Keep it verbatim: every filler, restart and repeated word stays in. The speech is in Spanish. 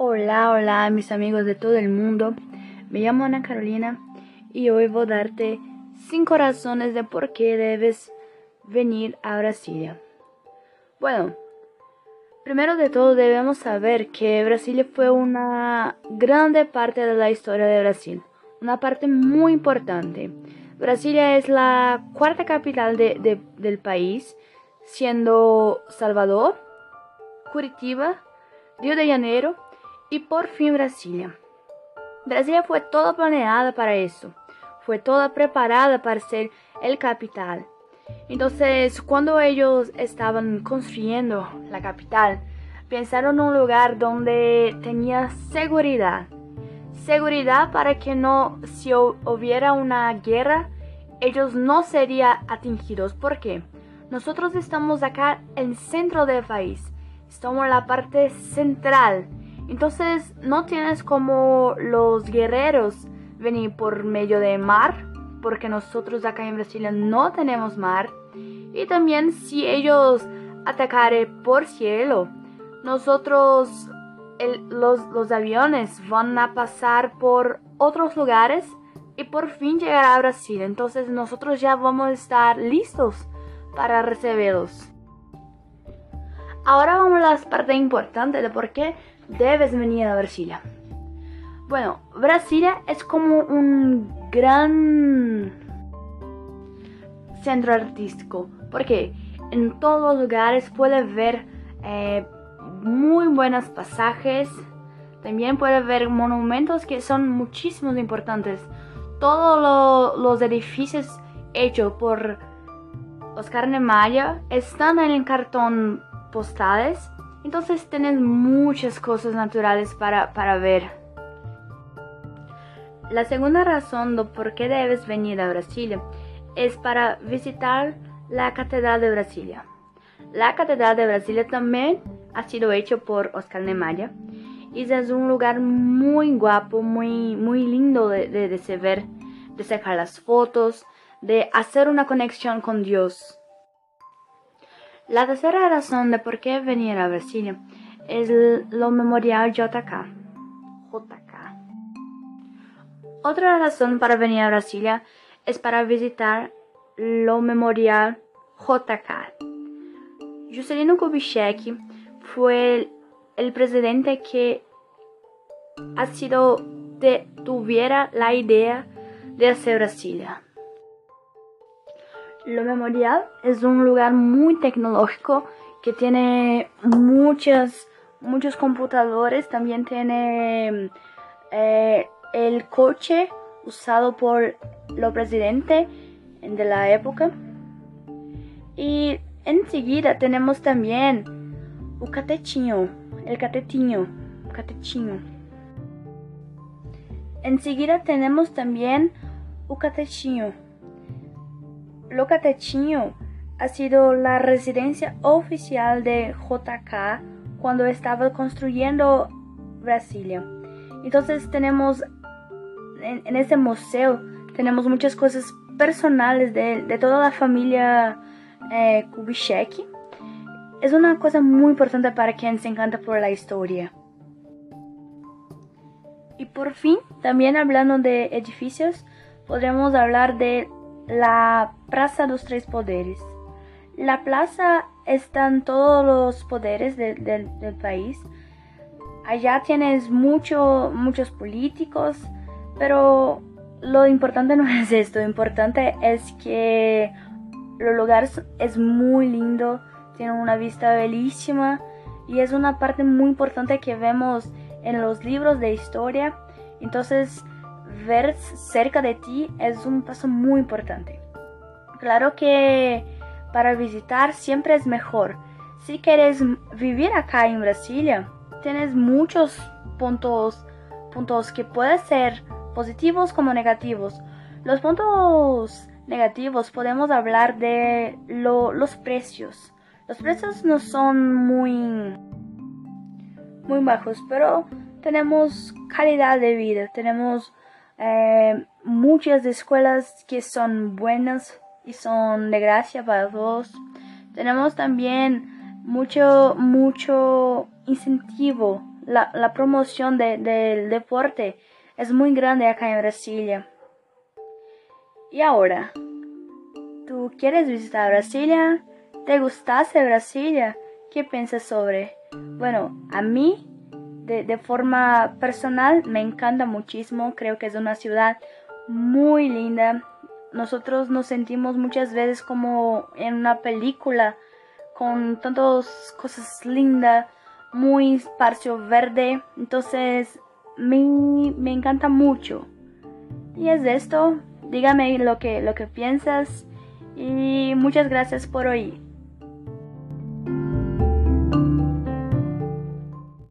Hola, hola mis amigos de todo el mundo. Me llamo Ana Carolina y hoy voy a darte cinco razones de por qué debes venir a Brasilia. Bueno, primero de todo debemos saber que Brasilia fue una grande parte de la historia de Brasil, una parte muy importante. Brasilia es la cuarta capital de, de, del país, siendo Salvador, Curitiba, Río de Janeiro y por fin Brasilia. Brasilia fue toda planeada para eso, fue toda preparada para ser el capital. Entonces, cuando ellos estaban construyendo la capital, pensaron en un lugar donde tenía seguridad. Seguridad para que no, si hubiera una guerra, ellos no serían atingidos. ¿Por qué? Nosotros estamos acá en el centro del país, estamos en la parte central. Entonces no tienes como los guerreros venir por medio de mar, porque nosotros acá en Brasil no tenemos mar. Y también si ellos atacaren por cielo, nosotros, el, los, los aviones van a pasar por otros lugares y por fin llegar a Brasil. Entonces nosotros ya vamos a estar listos para recibirlos. Ahora vamos a la parte importante de por qué debes venir a Brasilia. Bueno, Brasilia es como un gran centro artístico, porque en todos los lugares puedes ver eh, muy buenos pasajes. También puedes ver monumentos que son muchísimos importantes. Todos lo, los edificios hechos por Oscar Niemeyer están en el cartón postales. Entonces tienes muchas cosas naturales para, para ver. La segunda razón de por qué debes venir a Brasilia es para visitar la Catedral de Brasilia. La Catedral de Brasilia también ha sido hecha por Oscar Niemeyer y es un lugar muy guapo, muy, muy lindo de, de, de se ver, de sacar las fotos, de hacer una conexión con Dios. La tercera razón de por qué venir a Brasilia es lo Memorial J K. J K. Otra razón para venir a Brasilia es para visitar lo Memorial J K. Juscelino Kubitschek fue el, el presidente que ha sido de, tuviera la idea de hacer Brasilia. Lo Memorial es un lugar muy tecnológico que tiene muchas, muchos computadores. También tiene eh, el coche usado por los presidentes de la época. Y enseguida tenemos también el catetinho, el catetinho, catetinho. Enseguida tenemos también el catetinho. Lo Catetinho ha sido la residencia oficial de J K cuando estaba construyendo Brasilia. Entonces tenemos en, en ese museo tenemos muchas cosas personales de, de toda la familia eh, Kubitschek. Es una cosa muy importante para quien se encanta por la historia. Y por fin, también hablando de edificios, podremos hablar de la Plaza de los Tres Poderes. La plaza están todos los poderes de, de, del país. Allá tienes mucho, muchos políticos, pero lo importante no es esto. Lo importante es que el lugar es muy lindo, tiene una vista bellísima y es una parte muy importante que vemos en los libros de historia. Entonces, ver cerca de ti es un paso muy importante. Claro que para visitar siempre es mejor. Si quieres vivir acá en Brasilia, tienes muchos puntos, puntos que pueden ser positivos como negativos. Los puntos negativos podemos hablar de lo, los precios. Los precios no son muy, muy bajos, pero tenemos calidad de vida, tenemos Eh, muchas escuelas que son buenas y son de gracia para todos. Tenemos también mucho, mucho incentivo la, la promoción de, del deporte es muy grande acá en Brasilia. Y ahora, ¿tú quieres visitar Brasilia? ¿Te gustase Brasilia? ¿Qué piensas sobre? Bueno, a mí, de, de forma personal, me encanta muchísimo. Creo que es una ciudad muy linda. Nosotros nos sentimos muchas veces como en una película, con tantas cosas lindas, muy espacio verde. Entonces, me, me encanta mucho. Y es esto. Dígame lo que, lo que piensas. Y muchas gracias por oír.